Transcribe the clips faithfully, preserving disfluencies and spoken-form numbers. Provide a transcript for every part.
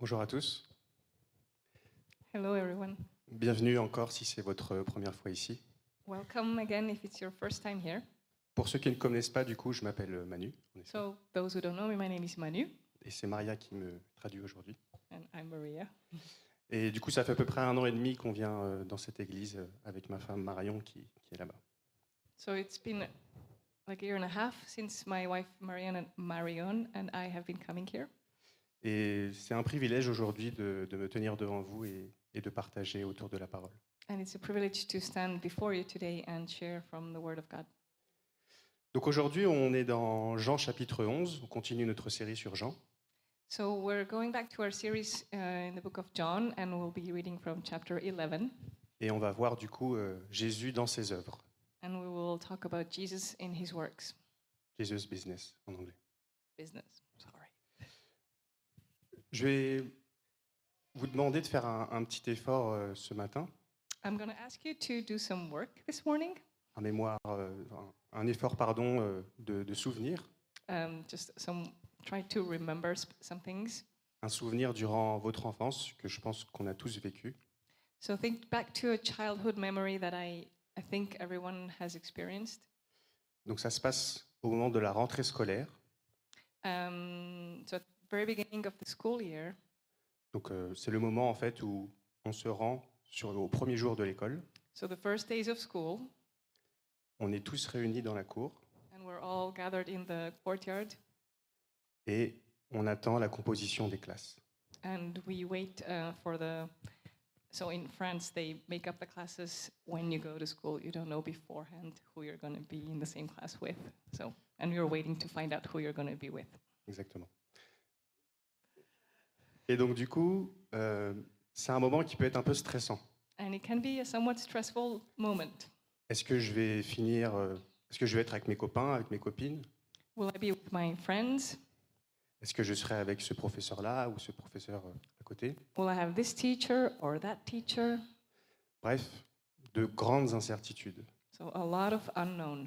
Bonjour à tous. Hello, everyone. Bienvenue encore si c'est votre première fois ici. Welcome again if it's your first time here. Pour ceux qui ne connaissent pas, du coup, je m'appelle Manu. En effet. So, those who don't know me, my name is Manu, Et c'est Maria qui me traduit aujourd'hui. and I'm Maria. Et du coup, ça fait à peu près un an et demi qu'on vient euh, dans cette église euh, avec ma femme Marion qui, qui est là-bas. So it's been like a year and a half since my wife Marianne and Marion and I have been coming here. Et c'est un privilège aujourd'hui de, de me tenir devant vous et, et de partager autour de la parole. And it's a privilege to stand before you today and share from the Word of God. Donc aujourd'hui, on est dans Jean chapitre onze. On continue notre série sur Jean. So we're going back to our series uh, in the book of John, and we'll be reading from chapter eleven. Et on va voir du coup euh, Jésus dans ses œuvres. And we will talk about Jesus in his works. Jesus business en anglais. Business, sorry. Je vais vous demander de faire un, un petit effort euh, ce matin. I'm going to ask you to do some work this morning. Un mémoire, euh, un, un effort pardon euh, de, de souvenir, Um, just some, try to remember sp- some things. un souvenir durant votre enfance que je pense qu'on a tous vécu. So think back to a childhood memory that I, I think everyone has experienced. Donc ça se passe au moment de la rentrée scolaire. Um, so at the very beginning of the school year, Donc euh, c'est le moment en fait où on se rend sur, au premier jour de l'école. so the first days of school, On est tous réunis dans la cour and we're all gathered in the courtyard, et on attend la composition des classes. and we wait uh, for the. So in France, they make up the classes when you go to school. You don't know beforehand who you're going to be in the same class with. So, and you're waiting to find out who you're going to be with. Exactement. Et donc du coup, euh, c'est un moment qui peut être un peu stressant. And it can be a somewhat stressful moment. Est-ce que je vais finir, euh, est-ce que je vais être avec mes copains, avec mes copines? Will I be with my friends? Est-ce que je serai avec ce professeur-là ou ce professeur euh, à côté? Will I have this teacher or that teacher? Bref, de grandes incertitudes. So a lot of unknown.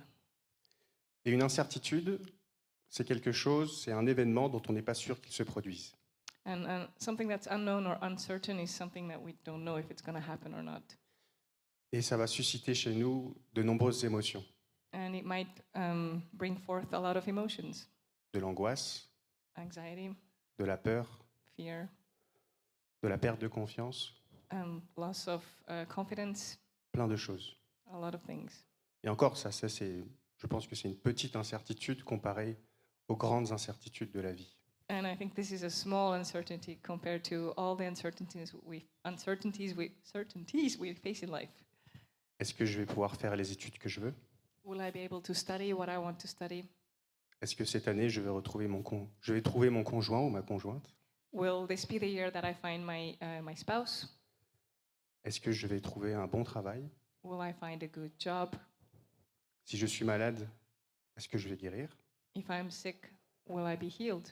Et une incertitude, c'est quelque chose, c'est un événement dont on n'est pas sûr qu'il se produise. And, and something that's unknown or uncertain is something that we don't know if it's going to happen or not. Et ça va susciter chez nous de nombreuses émotions. And it might um, bring forth a lot of emotions. De l'angoisse, Anxiety, de la peur, fear, de la perte de confiance, um, loss of uh, confidence, plein de choses. a lot of things. Et encore, ça, ça c'est, je pense que c'est une petite incertitude comparée aux grandes incertitudes de la vie. And I think this is a small uncertainty compared to all the uncertainties we uncertainties we certainties we face in life. Est-ce que je vais pouvoir faire les études que je veux? Will I be able to study what I want to study? Est-ce que cette année, je vais retrouver mon con... je vais trouver mon conjoint ou ma conjointe? Will this be the year that I find my uh, my spouse? Est-ce que je vais trouver un bon travail? Will I find a good job? Si je suis malade, est-ce que je vais guérir? If I'm sick, will I be healed?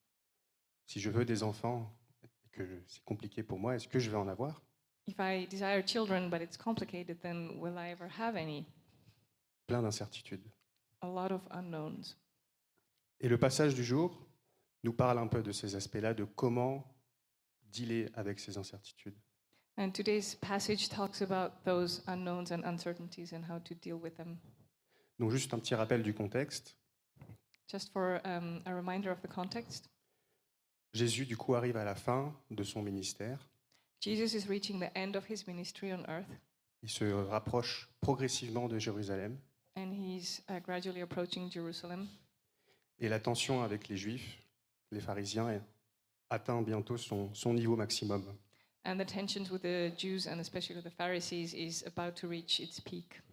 Si je veux des enfants et que c'est compliqué pour moi, est-ce que je vais en avoir? If I desire children but it's complicated, then will I ever have any? Plein d'incertitudes. A lot of unknowns. Et le passage du jour nous parle un peu de ces aspects-là, de comment dealer avec ces incertitudes. And today's passage talks about those unknowns and uncertainties and how to deal with them. Donc juste un petit rappel du contexte. Just for um, a reminder of the context, Jésus, du coup, arrive à la fin de son ministère. Jesus is reaching the end of his ministry on earth, Il se rapproche progressivement de Jérusalem. and he's uh, gradually approaching Jerusalem. Et la tension avec les Juifs, les pharisiens, atteint bientôt son, son niveau maximum. And the tensions with the Jews and especially the Pharisees is about to reach its peak.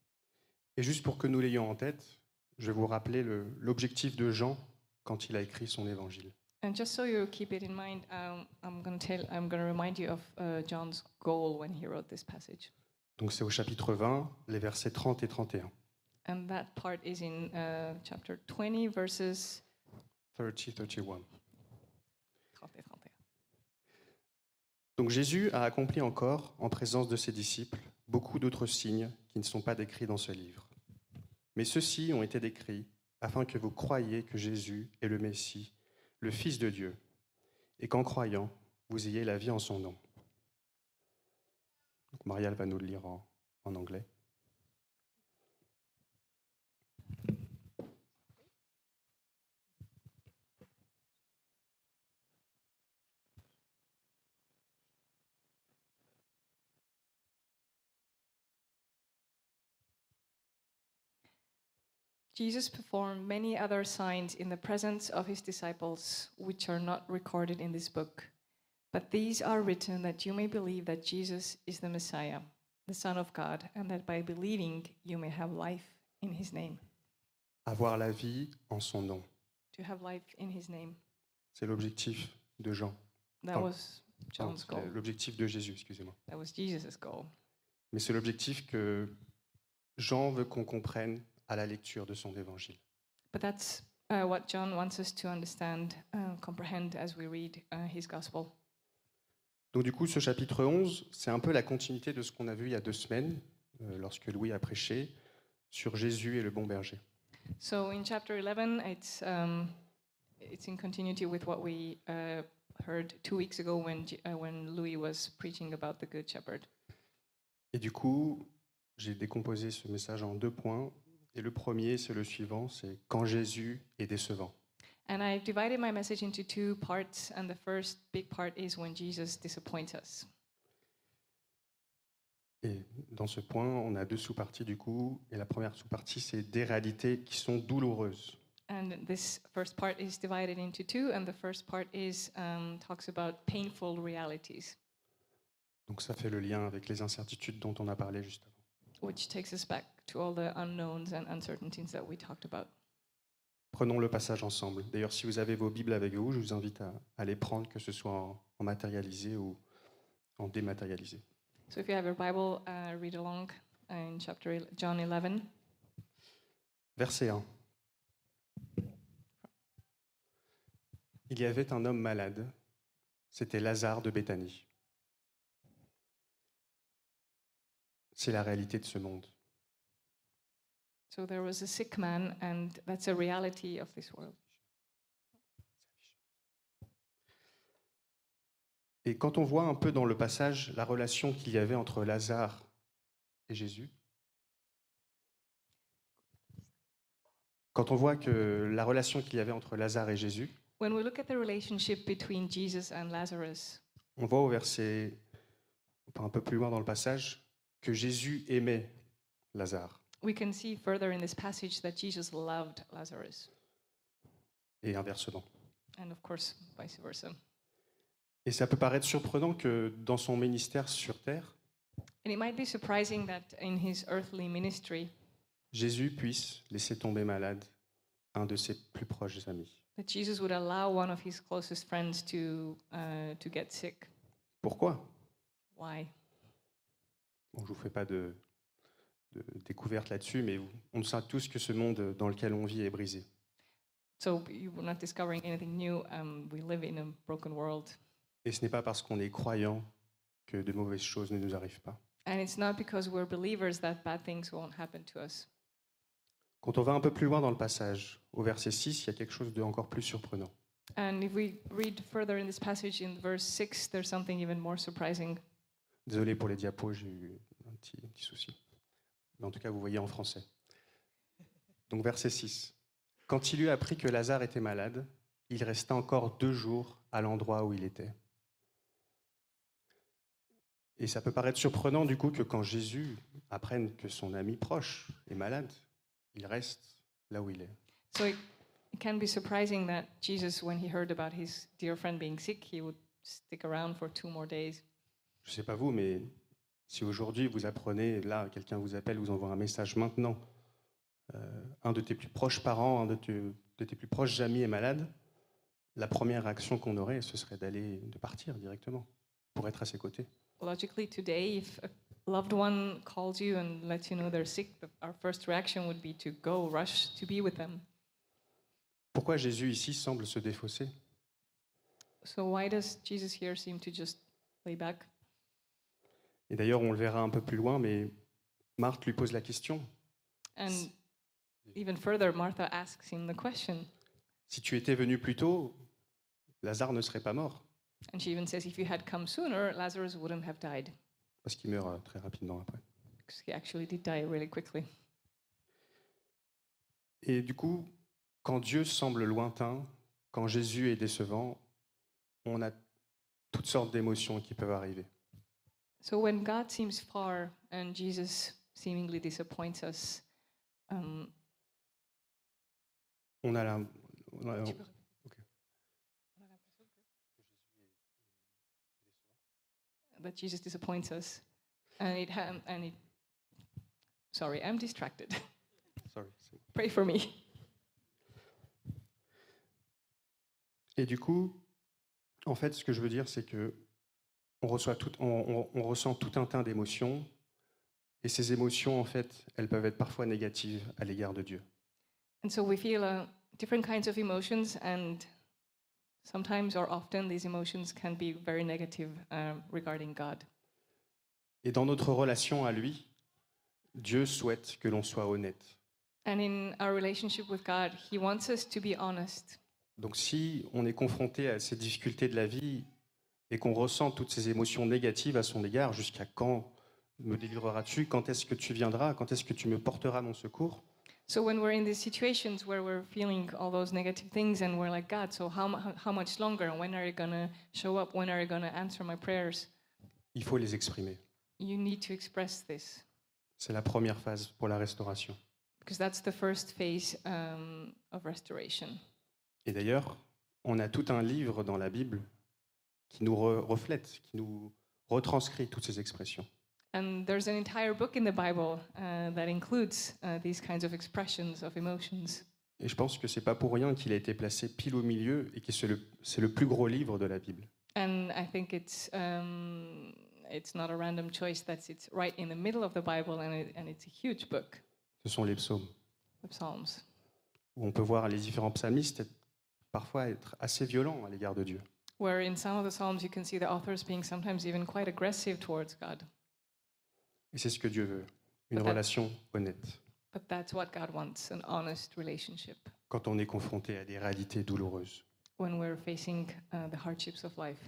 Et juste pour que nous l'ayons en tête, je vais vous rappeler le- l'objectif de Jean quand il a écrit son évangile. And just so you keep it in mind, um, I'm going to tell, I'm going to remind you of uh, John's goal when he wrote this passage. Donc c'est au chapitre vingt, les versets trente et trente et un. And that part is in uh, chapter twenty, verses trente, trente et un. trente et trente et un. Donc Jésus a accompli encore, en présence de ses disciples, beaucoup d'autres signes qui ne sont pas décrits dans ce livre. Mais ceux-ci ont été décrits afin que vous croyiez que Jésus est le Messie, le Fils de Dieu, et qu'en croyant, vous ayez la vie en son nom. Donc, Marielle va nous le lire en, en anglais. Jesus performed many other signs in the presence of his disciples, which are not recorded in this book. But these are written that you may believe that Jesus is the Messiah, the Son of God, and that by believing you may have life in his name. Avoir la vie en son nom. To have life in his name. C'est l'objectif de Jean. That Enfin, was John's pardon, goal. L'objectif de Jésus, excusez-moi. That was Jesus' goal. Mais c'est l'objectif que Jean veut qu'on comprenne à la lecture de son évangile. But that's uh, what John wants us to understand, uh, comprehend as we read uh, his gospel. Donc du coup, ce chapitre onze, c'est un peu la continuité de ce qu'on a vu il y a deux semaines, euh, lorsque Louis a prêché, sur Jésus et le bon berger. So in chapter eleven, it's, um, it's in continuity with what we uh, heard two weeks ago when, G- uh, when Louis was preaching about the Good Shepherd. Et du coup, j'ai décomposé ce message en deux points. Et le premier, c'est le suivant, c'est quand Jésus est décevant. And I've divided my message into two parts, and the first big part is when Jesus disappoints us. Et dans ce point, on a deux sous-parties du coup. Et la première sous-partie, c'est des réalités qui sont douloureuses. And this first part is divided into two, and the first part is um, talks about painful realities, Donc ça fait le lien avec les incertitudes dont on a parlé juste avant. which takes us back to all the unknowns and uncertainties that we talked about. Prenons le passage ensemble. D'ailleurs, si vous avez vos Bibles avec vous, je vous invite à, à les prendre, que ce soit en, en matérialisé ou en dématérialisé. So if you have your Bible, uh, read along in chapter el- John eleven. Verset un. Il y avait un homme malade, c'était Lazare de Béthanie. C'est la réalité de ce monde. So there was a sick man, and that's a reality of this world. Et quand on voit un peu dans le passage la relation qu'il y avait entre Lazare et Jésus, quand on voit que la relation qu'il y avait entre Lazare et Jésus, When we look at the relationship between Jesus and Lazarus, on voit au verset, enfin un peu plus loin dans le passage, que Jésus aimait Lazare. we can see further in this passage that Jesus loved Lazarus, Et inversement. and of course, vice versa. Et ça peut paraître surprenant que dans son ministère sur terre, And it might be surprising that in his earthly ministry, Jésus puisse laisser tomber malade un de ses plus proches amis. that Jesus would allow one of his closest friends to uh, to get sick. Pourquoi? Why? Bon, je ne vous fais pas de, de découverte là-dessus, mais on sait tous que ce monde dans lequel on vit est brisé. So you're not discovering anything new. Um, we live in a broken world. Et ce n'est pas parce qu'on est croyant que de mauvaises choses ne nous arrivent pas. And it's not because we're believers that bad things won't happen to us. Quand on va un peu plus loin dans le passage, au verset six, il y a quelque chose de encore plus surprenant. And if we read further in this passage in verse six, there's something even more surprising. Désolé pour les diapos, j'ai eu un petit, un petit souci. Mais en tout cas, vous voyez en français. Donc verset six. Quand il eut appris que Lazare était malade, il resta encore deux jours à l'endroit où il était. Et ça peut paraître surprenant du coup que quand Jésus apprenne que son ami proche est malade, il reste là où il est. So it, it can be surprising that Jesus, when he heard about his dear friend being sick, he would stick around for two more days. Je ne sais pas vous, mais si aujourd'hui vous apprenez, là, quelqu'un vous appelle, vous envoie un message maintenant, euh, un de tes plus proches parents, un de, te, de tes plus proches amis est malade, la première réaction qu'on aurait, ce serait d'aller, de partir directement pour être à ses côtés. Logically, today, if a loved one calls you and lets you know they're sick, the, our first reaction would be to go, rush to be with them. Pourquoi Jésus ici semble se défausser? So why does Jesus here seem to just lay back? Et d'ailleurs, on le verra un peu plus loin, mais Marthe lui pose la question. And even further, Martha asks him the question, Si tu étais venu plus tôt, Lazare ne serait pas mort. And she even says, if you had come sooner, Lazarus wouldn't have died, parce qu'il meurt euh, très rapidement après. because he actually did die really quickly. Et du coup, quand Dieu semble lointain, quand Jésus est décevant, on a toutes sortes d'émotions qui peuvent arriver. So when God seems far and Jesus seemingly disappoints us, um, On a la, on a- ok. that Jesus disappoints us, and it ha- and it. Sorry, I'm distracted. Sorry, c'est- Pray for me. Et du coup, en fait, ce que je veux dire, c'est que on reçoit tout, on, on- on ressent tout un tas d'émotions, et ces émotions, en fait, elles peuvent être parfois négatives à l'égard de Dieu. And so we feel uh, different kinds of emotions, and sometimes or often these emotions can be very negative um, regarding God. Et dans notre relation à lui, Dieu souhaite que l'on soit honnête. And in our relationship with God, He wants us to be honest. Donc si on est confronté à ces difficultés de la vie et qu'on ressent toutes ces émotions négatives à son égard, jusqu'à quand me délivreras-tu? Quand est-ce que tu viendras? Quand est-ce que tu me porteras mon secours? So when we're in these situations where we're feeling all those negative things and we're like, God, so how, mu- how much longer? When are you going to show up? When are you going to answer my prayers? Il faut les exprimer. You need to express this, C'est la première phase pour la restauration. because that's the first phase um, of restoration. Et d'ailleurs, on a tout un livre dans la Bible qui nous re- reflète, qui nous retranscrit toutes ces expressions. And there's an entire book in the Bible uh, that includes uh, these kinds of expressions of emotions. Et je pense que c'est pas pour rien qu'il a été placé pile au milieu et que c'est le, c'est le plus gros livre de la Bible. And I think it's um, it's not a random choice that it's right in the middle of the Bible, and, it, and it's a huge book, Ce sont les psaumes, the Psalms, où on peut voir les différents psalmistes être- parfois être assez violents à l'égard de Dieu. where in some of the Psalms you can see the authors being sometimes even quite aggressive towards God. Et c'est ce que Dieu veut, une Peut-être. relation honnête, But that's what God wants, an honest relationship quand on est confronté à des réalités douloureuses. when we're facing uh, the hardships of life.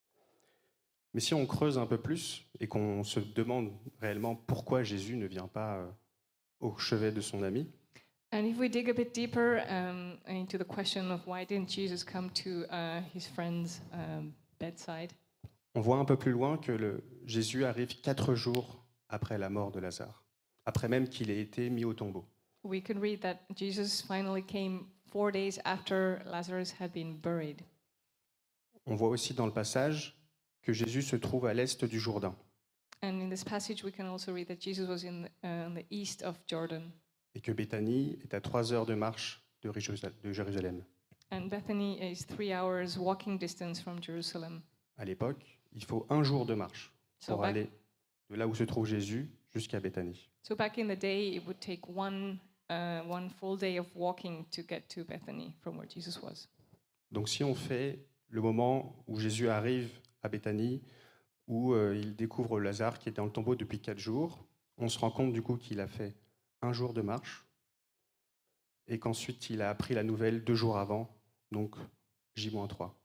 Mais si on creuse un peu plus et qu'on se demande réellement pourquoi Jésus ne vient pas euh, au chevet de son ami, And if we dig a bit deeper um, into the question of why didn't Jesus come to uh, his friend's um, bedside, on voit un peu plus loin que le, Jésus arrive quatre jours après la mort de Lazare, après même qu'il ait été mis au tombeau. we can read that Jesus finally came four days after Lazarus had been buried. On voit aussi dans le passage que Jésus se trouve à l'est du Jourdain. And in this passage, we can also read that Jesus was in uh, the east of Jordan. Et que Béthanie est à trois heures de marche de Résal- de Jérusalem. And Bethany is three hours walking distance from Jerusalem. À l'époque, il faut un jour de marche So pour back, aller de là où se trouve Jésus jusqu'à Béthanie. so back in the day, it would take one, uh, one full day of walking to get to Bethany from where Jesus was. Donc si on fait le moment où Jésus arrive à Béthanie, où euh, il découvre Lazare qui était dans le tombeau depuis quatre jours, on se rend compte du coup qu'il a fait un jour de marche et qu'ensuite il a appris la nouvelle deux jours avant, donc J trois.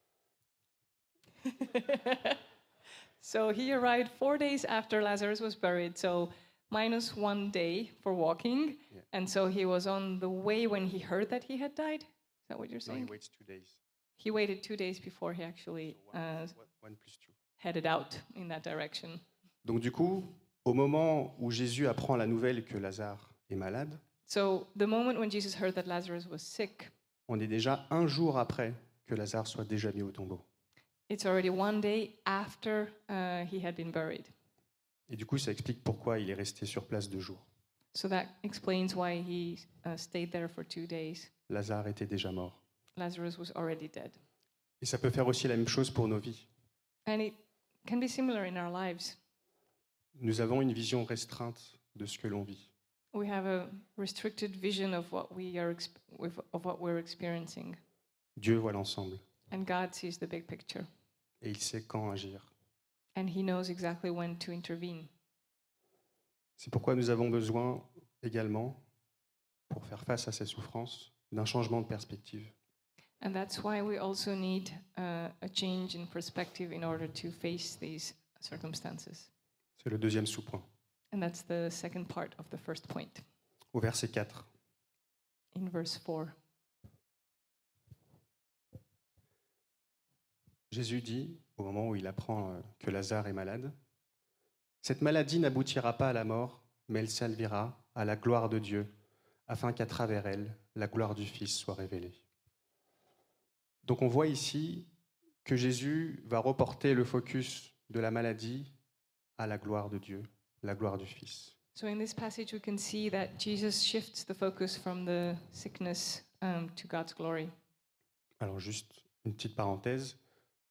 So he arrived four days after Lazarus was buried, so minus one day for walking. Yeah. And so he was on the way when he heard that he had died. Is that what you're No, he saying? waits two days. He waited two days before he actually So one, uh, one plus two. headed out in that direction. Donc du coup, au moment où Jésus apprend la nouvelle que Lazare est malade, So the moment when Jesus heard that Lazarus was sick, on est déjà un jour après que Lazare soit déjà mis au tombeau. it's already one day after uh, he had been buried. Et du coup, ça explique pourquoi il est resté sur place deux jours. So that explains why he uh, stayed there for two days. Lazare était déjà mort. Lazarus was already dead. Et ça peut faire aussi la même chose pour nos vies. And it can be similar in our lives. Nous avons une vision restreinte de ce que l'on vit. We have a restricted vision of what we are exp- with- of what we're experiencing, Dieu voit l'ensemble and God sees the big picture, et il sait quand agir. and He knows exactly when to intervene. C'est pourquoi nous avons besoin également, pour faire face à ces souffrances, d'un changement de perspective. And that's why we also need uh, a change in perspective in order to face these circumstances. C'est le deuxième sous-point. And that's the second part of the first point. Au verset quatre. In verse four, Jésus dit, au moment où il apprend euh, que Lazare est malade, « Cette maladie n'aboutira pas à la mort, mais elle servira à la gloire de Dieu, afin qu'à travers elle, la gloire du Fils soit révélée. » Donc on voit ici que Jésus va reporter le focus de la maladie à la gloire de Dieu, la gloire du Fils. so in this passage we can see that Jesus shifts the focus from the sickness um, to God's glory. Alors juste une petite parenthèse.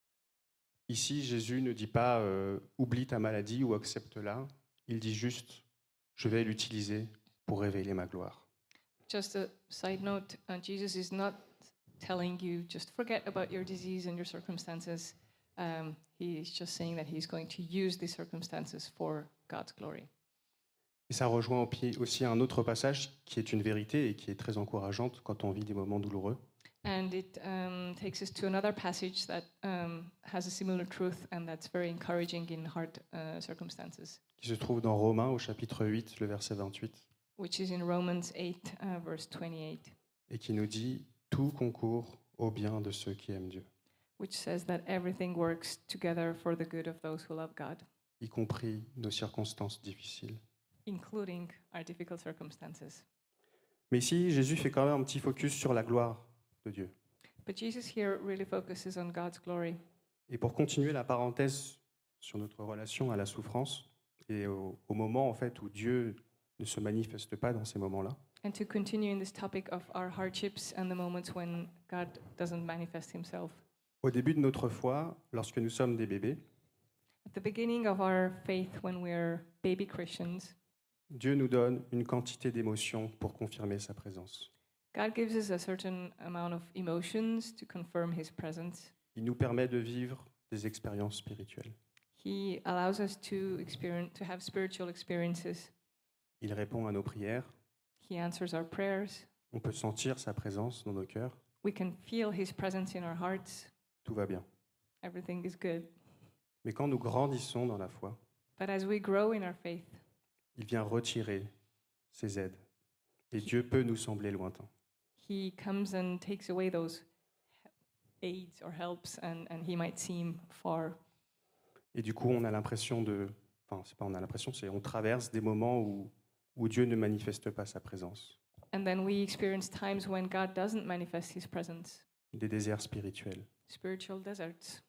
Ici, Jésus ne dit pas euh, « oublie ta maladie » ou « accepte-la ». Il dit juste « je vais l'utiliser pour révéler ma gloire ». Just a side note, uh, Jesus is not telling you just forget about your disease and your circumstances. Um, he is just saying that he's going to use these circumstances for God's glory. Et ça rejoint au pied aussi un autre passage qui est une vérité et qui est très encourageante quand on vit des moments douloureux. And it um, takes us to another passage that um, has a similar truth and that's very encouraging in hard uh, circumstances, Qui se trouve dans Romains au chapitre huit, le verset vingt-huit, which is in Romans eight, uh, verse twenty-eight, et qui nous dit « Tout concourt au bien de ceux qui aiment Dieu, which says that everything works together for the good of those who love God, y compris nos circonstances difficiles. including our difficult circumstances. » Mais ici, Jésus fait quand même un petit focus sur la gloire de Dieu. But Jesus here really focuses on God's glory. Et pour continuer la parenthèse sur notre relation à la souffrance et au, au moment en fait où Dieu ne se manifeste pas dans ces moments-là, And to continue in this topic of our hardships and the moments when God doesn't manifest himself. au début de notre foi, lorsque nous sommes des bébés, At the beginning of our faith, when we're baby Christians, Dieu nous donne une quantité d'émotions pour confirmer sa présence. God gives us a certain amount of emotions to confirm his presence. Il nous permet de vivre des expériences spirituelles. He allows us to experience, to have spiritual experiences. Il répond à nos prières. He answers our prayers. On peut sentir sa présence dans nos cœurs. We can feel his presence in our hearts. Tout va bien. Everything is good. Mais quand nous grandissons dans la foi, But as we grow in our faith, il vient retirer ses aides. Et Dieu peut nous sembler lointain. he comes and takes away those aids or helps, and, and he might seem far. Et du coup, on a l'impression de... Enfin, c'est pas on a l'impression, c'est on traverse des moments où, où Dieu ne manifeste pas sa présence. And then we experience times when God doesn't manifest his presence, Des déserts spirituels. spiritual deserts.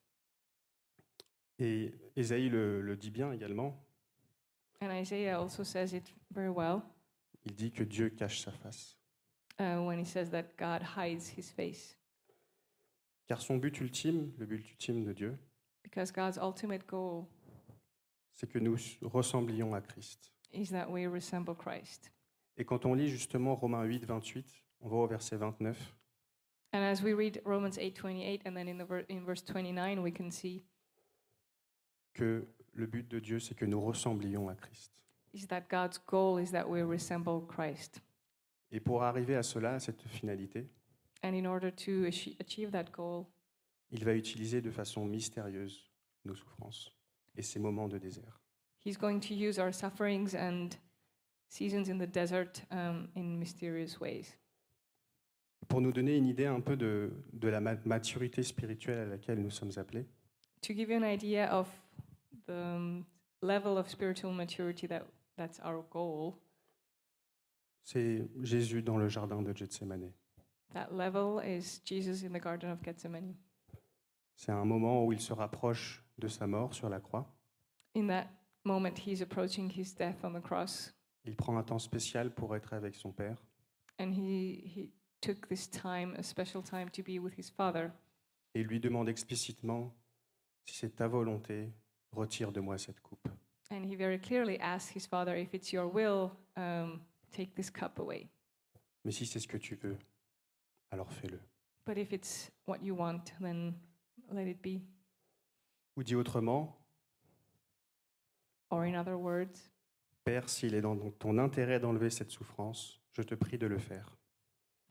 Et Ésaïe le, le dit bien également. And Isaiah also says it very well Il dit que Dieu cache sa face. uh, when he says that God hides his face. Car son but ultime, le but ultime de Dieu, Because God's ultimate goal c'est que nous ressemblions à Christ. is that we resemble Christ. Et quand on lit justement Romains huit, vingt-huit, on va au verset vingt-neuf, And as we read Romans eight twenty-eight, and then in, the ver- in verse twenty-nine, we can see que le but de Dieu, c'est que nous ressemblions à Christ. is that God's goal is that we resemble Christ. Et pour arriver à cela, à cette finalité, And in order to achi- achieve that goal, il va utiliser de façon mystérieuse nos souffrances et ces moments de désert. he's going to use our sufferings and seasons in the desert um, in mysterious ways. Pour nous donner une idée un peu de, de la ma- maturité spirituelle à laquelle nous sommes appelés, To give you an idea of the um, level of spiritual maturity that that's our goal, c'est Jésus dans le jardin de Gethsémane. that level is Jesus in the Garden of Gethsemane. C'est un moment où il se rapproche de sa mort sur la croix. In that moment, he's approaching his death on the cross, Il prend un temps spécial pour être avec son Père. and he, he took this time, a special time, to be with his Father. Et il lui demande explicitement, si c'est ta volonté, retire de moi cette coupe. And he very clearly asks his Father, if it's your will, um, take this cup away. Mais si c'est ce que tu veux, alors fais-le. But if it's what you want, then let it be. Ou dit autrement, Or in other words, Père, s'il est dans ton intérêt d'enlever cette souffrance, je te prie de le faire.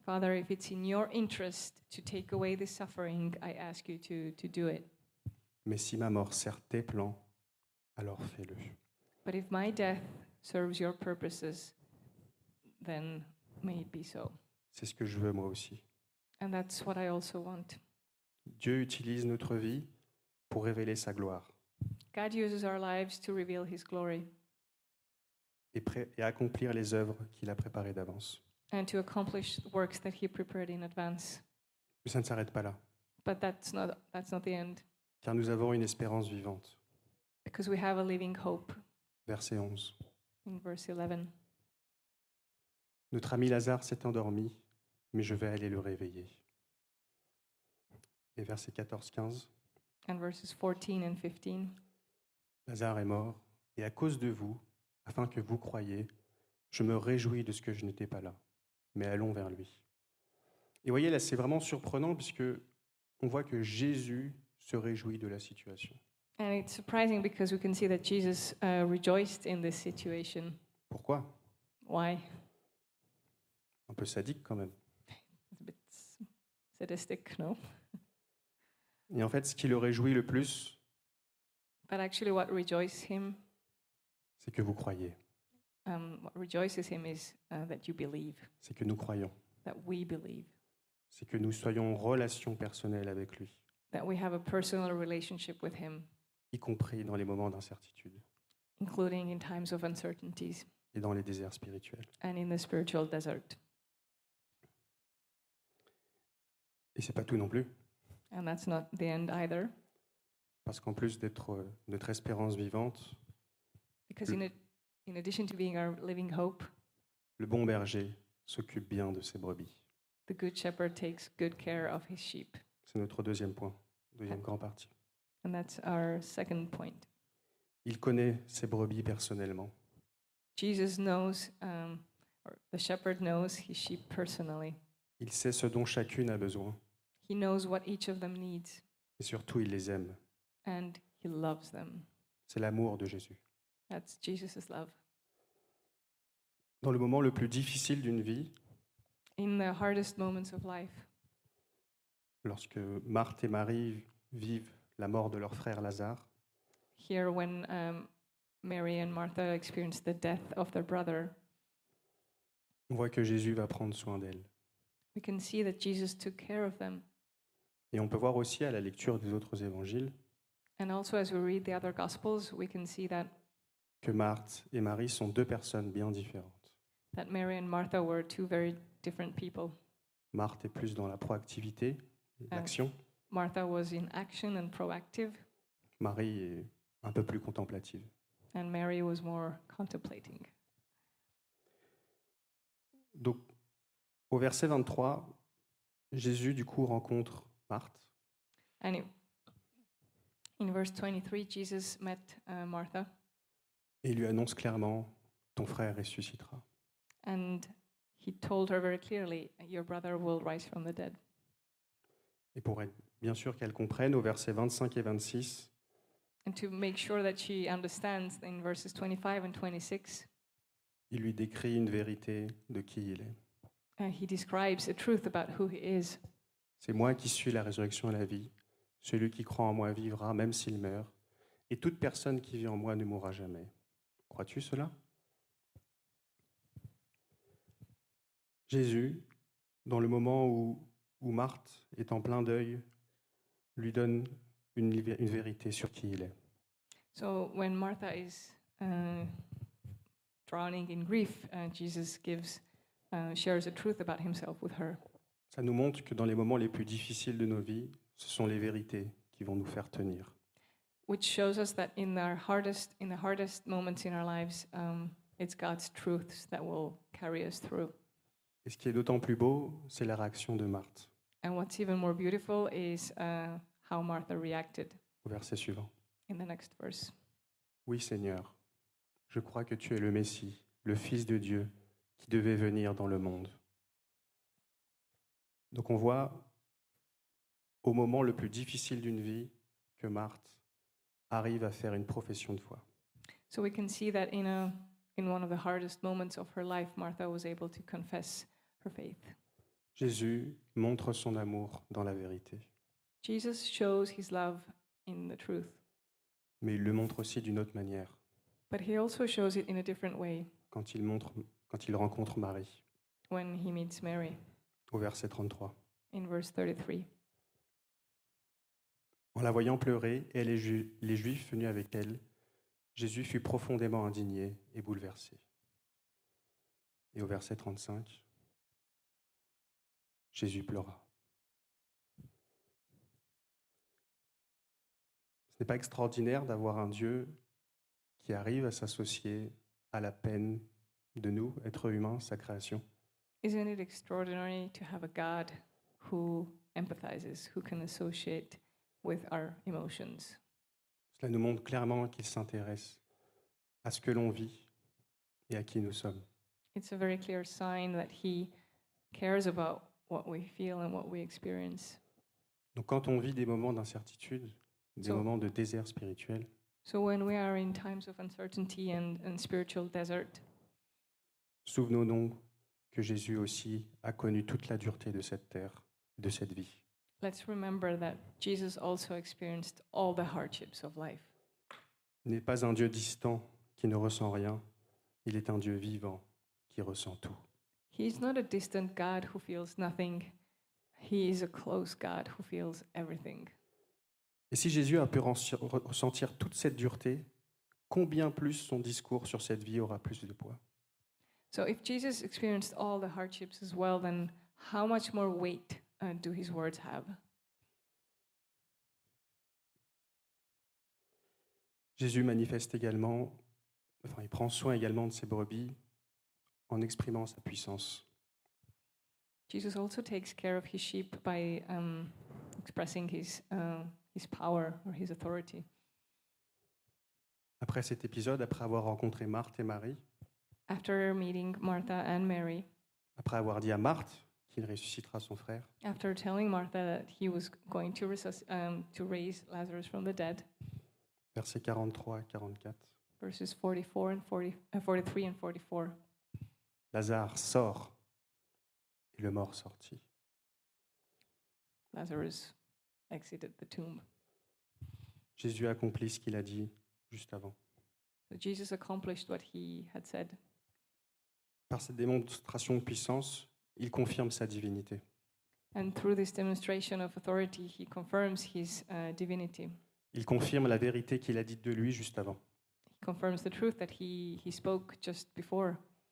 Father, if it's in your interest to take away this suffering, I ask you to, to do it. Mais si ma mort sert tes plans, alors fais-le. But if my death serves your purposes, then may it be so. C'est ce que je veux moi aussi. And that's what I also want. Dieu utilise notre vie pour révéler sa gloire God uses our lives to reveal his glory et, pré- et accomplir les œuvres qu'il a préparées d'avance. and to accomplish works that he prepared in advance. Mais ça ne s'arrête pas là, But that's not, that's not the end, car nous avons une espérance vivante. because we have a living hope Verset onze. in verse eleven. Notre ami Lazare s'est endormi, mais je vais aller le réveiller. Et verset quatorze quinze. And verses fourteen and fifteen. Lazare est mort, et à cause de vous, afin que vous croyiez, je me réjouis de ce que je n'étais pas là. Mais allons vers lui. Et voyez, là, c'est vraiment surprenant, puisque on voit que Jésus se réjouit de la situation. And it's surprising because we can see that Jesus uh, rejoiced in this situation. Pourquoi ? Why? Un peu sadique quand même. It's a bit s- sadistic, no? Et en fait, ce qui le réjouit le plus, But actually, what rejoices him, c'est que vous croyez, um, what rejoices him is uh, that you believe, c'est que nous croyons, that we believe, c'est que nous soyons en relation personnelle avec lui, that we have a personal relationship with him, y compris dans les moments d'incertitude including in times of uncertainties et dans les déserts spirituels. and in the spiritual desert. Et c'est pas tout non plus, And that's not the end either, parce qu'en plus d'être euh, notre espérance vivante, because in, a, in addition to being our living hope, le bon berger s'occupe bien de ses brebis. the good shepherd takes good care of his sheep. C'est notre deuxième point, deuxième grand partie. And that's our second point. Il connaît ses brebis personnellement. Jesus knows, um, or the shepherd knows his sheep personally. Il sait ce dont chacune a besoin. He knows what each of them needs, Et surtout, il les aime. and he loves them. C'est l'amour de Jésus. That's Jesus' love. Dans le moment le plus difficile d'une vie, In the hardest moments of life, lorsque Marthe et Marie vivent la mort de leur frère Lazare, here when um, Mary and Martha experienced the death of their brother, on voit que Jésus va prendre soin d'elles. we can see that Jesus took care of them. Et on peut voir aussi à la lecture des autres évangiles And also as we read the other Gospels, we can see that, que Marthe et Marie sont deux personnes bien différentes. that Mary and Martha were two very different people. Marthe est plus dans la proactivité, l'action. Martha was in action and proactive, Marie est un peu plus contemplative. and Mary was more contemplating. Donc, au verset vingt-trois, Jésus, du coup, rencontre Marthe And it, in verse twenty-three, Jesus met uh, Martha, et lui annonce clairement « Ton frère ressuscitera ». and he told her very clearly, your brother will rise from the dead. Et pour être bien sûr qu'elle comprenne, au verset vingt-cinq et vingt-six, And to make sure that she understands, in verses twenty-five and twenty-six, il lui décrit une vérité de qui il est. uh, he describes a truth about who he is. C'est moi qui suis la résurrection et la vie. Celui qui croit en moi vivra même s'il meurt, et toute personne qui vit en moi ne mourra jamais. Crois-tu cela ? Jésus, dans le moment où, où Marthe est en plein deuil, lui donne une, une vérité sur qui il est. So when Martha is uh, drowning in grief, uh, Jesus gives, uh, shares a truth about himself with her. Ça nous montre que dans les moments les plus difficiles de nos vies, ce sont les vérités qui vont nous faire tenir. Which shows us that in our hardest, in the hardest moments in our lives, um, it's God's truths that will carry us through. Et ce qui est d'autant plus beau, c'est la réaction de Marthe, And what's even more beautiful is uh, how Martha reacted au verset suivant. in the next verse. Oui, Seigneur, je crois que tu es le Messie, le Fils de Dieu, qui devait venir dans le monde. Donc on voit, au moment le plus difficile d'une vie, que Marthe arrive à faire une profession de foi. So we can see that in a in one of the hardest moments of her life, Martha was able to confess her faith. Jésus montre son amour dans la vérité, Jesus shows his love in the truth, mais il le montre aussi d'une autre manière, but he also shows it in a different way quand il, montre, quand il rencontre Marie, when he meets Mary au verset trente-trois. in verse thirty-three. En la voyant pleurer, et les, Ju- les Juifs venus avec elle, Jésus fut profondément indigné et bouleversé. Et au verset trente-cinq, Jésus pleura. Ce n'est pas extraordinaire d'avoir un Dieu qui arrive à s'associer à la peine de nous, êtres humains, sa création. Isn't it extraordinary to have a God who empathizes, who can associate with our emotions? Cela nous montre clairement qu'il s'intéresse à ce que l'on vit et à qui nous sommes. It's a very clear sign that he cares about what we feel and what we experience. Donc quand on vit des moments d'incertitude, des So- moments de désert spirituel, So when we are in times of uncertainty and, and spiritual desert, souvenons-nous que Jésus aussi a connu toute la dureté de cette terre, de cette vie. let's remember that Jesus also experienced all the hardships of life. Il n'est pas un Dieu distant qui ne ressent rien, il est un Dieu vivant qui ressent tout. He's not a distant God who feels nothing. He is a close God who feels everything. Et si Jésus a pu rensi- ressentir toute cette dureté, combien plus son discours sur cette vie aura plus de poids? So if Jesus experienced all the hardships as well, then how much more weight uh, do his words have? Jésus manifeste également, enfin il prend soin également de ses brebis en exprimant sa puissance. Jesus also takes care of his sheep by um, expressing his, uh, his power or his authority. Après cet épisode, après avoir rencontré Marthe et Marie, After meeting Martha and Mary, après avoir dit à Marthe qu'il ressuscitera son frère, after telling Martha that he was going to, resus- um, to raise Lazarus from the dead, versets quarante-trois à quarante-quatre, verses forty-four and forty, uh, forty-three and forty-four, Lazare sort et le mort sortit. Lazarus exited the tomb. Jésus accomplit ce qu'il a dit juste avant. So Jesus accomplished what he had said. Par cette démonstration de puissance, il confirme sa divinité. And through this demonstration of authority, he confirms his uh, divinity. Il confirme la vérité qu'il a dite de lui juste avant. He confirms the truth that he, he spoke just before.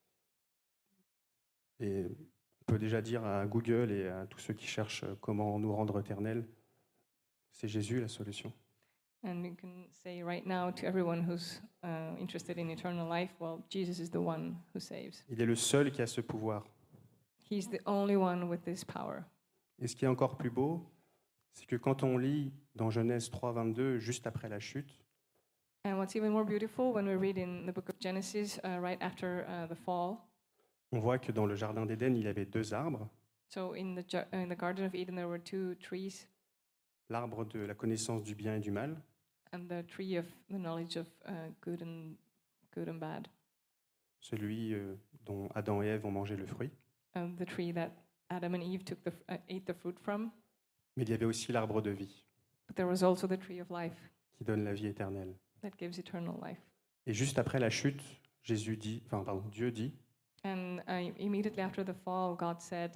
Et on peut déjà dire à Google et à tous ceux qui cherchent comment nous rendre éternels, c'est Jésus la solution. And you can say right now to everyone who's uh, interested in eternal life, well, Jesus is the one who saves. Il est le seul qui a ce pouvoir. He's the only one with this power. Et ce qui est encore plus beau, c'est que quand on lit dans Genèse trois, vingt-deux, juste après la chute, And what's even more beautiful when we read in the book of Genesis, uh, right after uh, the fall, on voit que dans le jardin d'Éden, il y avait deux arbres, so in the, ju- in the Garden of Eden there were two trees, l'arbre de la connaissance du bien et du mal, and the tree of the knowledge of uh, good and good and bad, celui euh, dont Adam et Ève ont mangé le fruit. and the tree that Adam and Eve took the, f- uh, ate the fruit from. Mais il y avait aussi l'arbre de vie, But there was also the tree of life qui donne la vie éternelle. that gives eternal life. Et juste après la chute, Jésus dit, enfin pardon, Dieu dit, And uh, immediately after the fall, God said,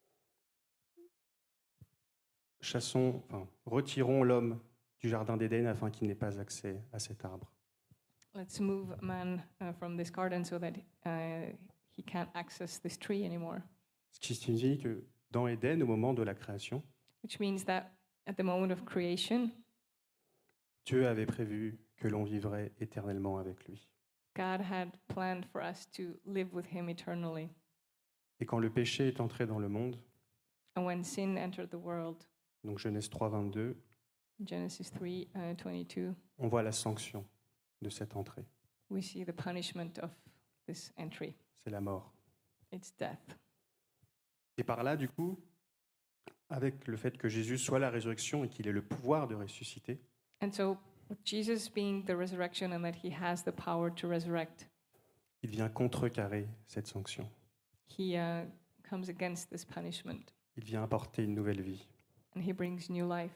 chassons, enfin, retirons l'homme du jardin d'Éden afin qu'il n'ait pas accès à cet arbre. let's move man uh, from this garden so that uh, he can't access this tree anymore. Ce qui signifie que dans Éden, au moment de la création, Which means that at the moment of creation, Dieu avait prévu que l'on vivrait éternellement avec lui. God had planned for us to live with him eternally. Et quand le péché est entré dans le monde, And when sin entered the world, donc Genèse trois, vingt-deux, Genesis three uh, twenty-two, on voit la sanction de cette entrée. we see the punishment of this entry. C'est la mort. It's death. Et par là, du coup, avec le fait que Jésus soit la résurrection et qu'il ait le pouvoir de ressusciter, And so, with Jesus being the resurrection and that he has the power to resurrect, il vient contrecarrer cette sanction. he uh, comes against this punishment. Il vient apporter une nouvelle vie. and he brings new life.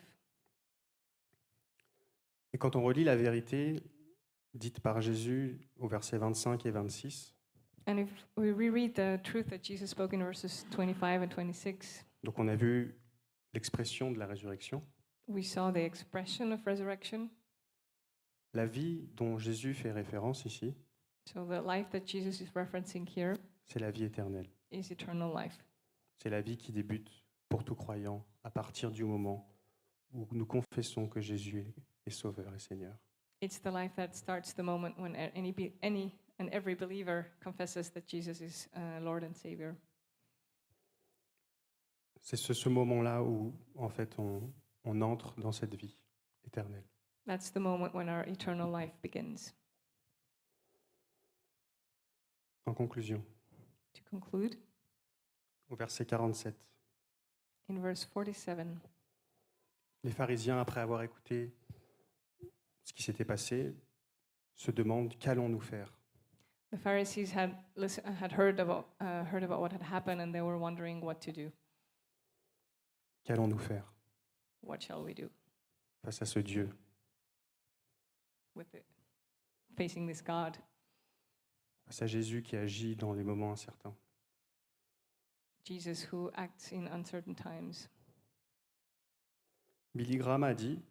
Et quand on relit la vérité dite par Jésus au verset vingt-cinq et vingt-six, And if we reread the truth that Jesus spoke in verses twenty-five and twenty-six, donc on a vu l'expression de la résurrection, we saw the expression of resurrection. la vie dont Jésus fait référence ici, So the life that Jesus is referencing here c'est la vie éternelle. is eternal life. C'est la vie qui débute pour tout croyant à partir du moment où nous confessons que Jésus est Sauveur et Seigneur. It's the life that starts the moment when a- any be- any and every believer confesses that Jesus is uh, Lord and Savior. C'est ce, ce moment-là où, en fait, on, on entre dans cette vie éternelle. That's the moment when our eternal life begins. En conclusion, To conclude, au verset quarante-sept, in verse forty-seven, les pharisiens, après avoir écouté ce qui s'était passé, se demandent qu'allons-nous faire. the Pharisees had listen, had heard about uh, heard about what had happened, and they were wondering what to do. Qu'allons-nous faire What shall we do face à ce Dieu with it, facing this God, face à Jésus qui agit dans les moments incertains. Jesus who acts in uncertain times? Billy Graham a dit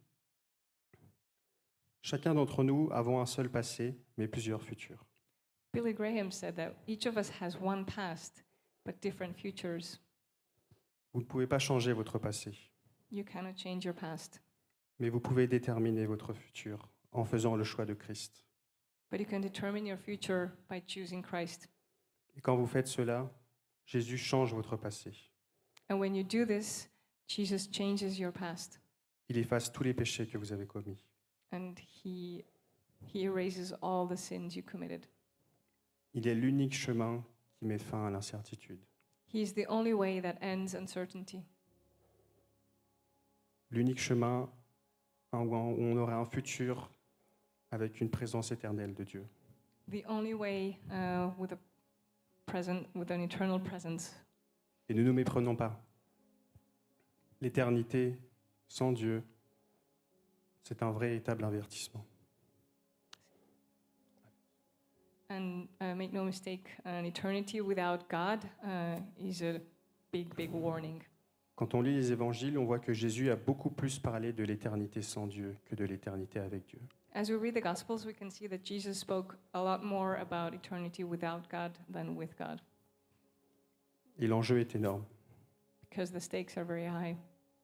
« Chacun d'entre nous avons un seul passé, mais plusieurs futurs. Billy Graham said that each of us has one past, but different futures. Vous ne pouvez pas changer votre passé, You cannot change your past, mais vous pouvez déterminer votre futur en faisant le choix de Christ. but you can determine your future by choosing Christ. Et quand vous faites cela, Jésus change votre passé. And when you do this, Jesus changes your past, Il efface tous les péchés que vous avez commis. and he he erases all the sins you committed. Il est l'unique chemin qui met fin à l'incertitude. He is the only way that ends uncertainty, L'unique chemin où on aura un futur avec une présence éternelle de Dieu. the only way uh, with a present with an eternal presence. Et ne nous méprenons pas. L'éternité sans Dieu, c'est un véritable avertissement. And uh, make no mistake, an eternity without God uh, is a big, big warning. Quand on lit les évangiles, on voit que Jésus a beaucoup plus parlé de l'éternité sans Dieu que de l'éternité avec Dieu. As we read the Gospels, we can see that Jesus spoke a lot more about eternity without God than with God, Et l'enjeu est énorme. because the stakes are very high.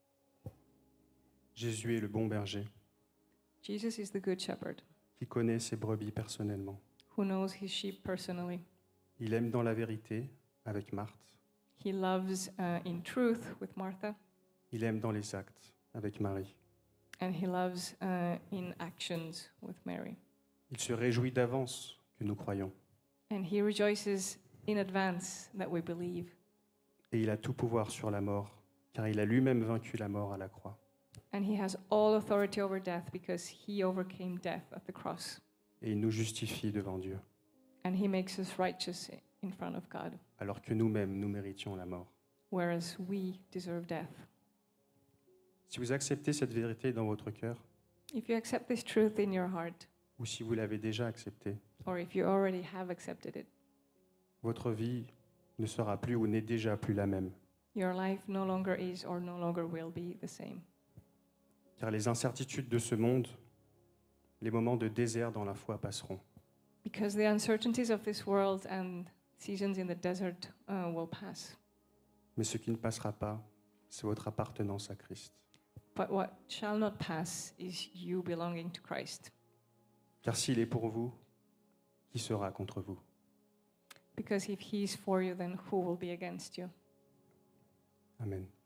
Jésus est le bon berger Jesus is the Good Shepherd qui connaît ses brebis personnellement. who knows his sheep personally. Il aime dans la vérité avec Marthe. He loves uh, in truth with Martha, Il aime dans les actes avec Marie. and he loves uh, in actions with Mary. Il se réjouit d'avance que nous croyons. And he rejoices in advance that we believe. Et il a tout pouvoir sur la mort, car il a lui-même vaincu la mort à la croix. And he has all authority over death because he overcame death at the cross. Et il nous justifie devant Dieu, And he makes us righteous in front of God, alors que nous-mêmes, nous méritions la mort. whereas we deserve death. Si vous acceptez cette vérité dans votre cœur, If you accept this truth in your heart, ou si vous l'avez déjà accepté, or if you already have accepted it, votre vie ne sera plus ou n'est déjà plus la même. your life no longer is or no longer will be the same. Car les incertitudes de ce monde, les moments de désert dans la foi passeront. Because the uncertainties of this world and seasons in the desert uh, will pass. Mais ce qui ne passera pas, c'est votre appartenance à Christ. But what shall not pass is you belonging to Christ. Car s'il est pour vous, qui sera contre vous? Because if he is for you, then who will be against you? Amen.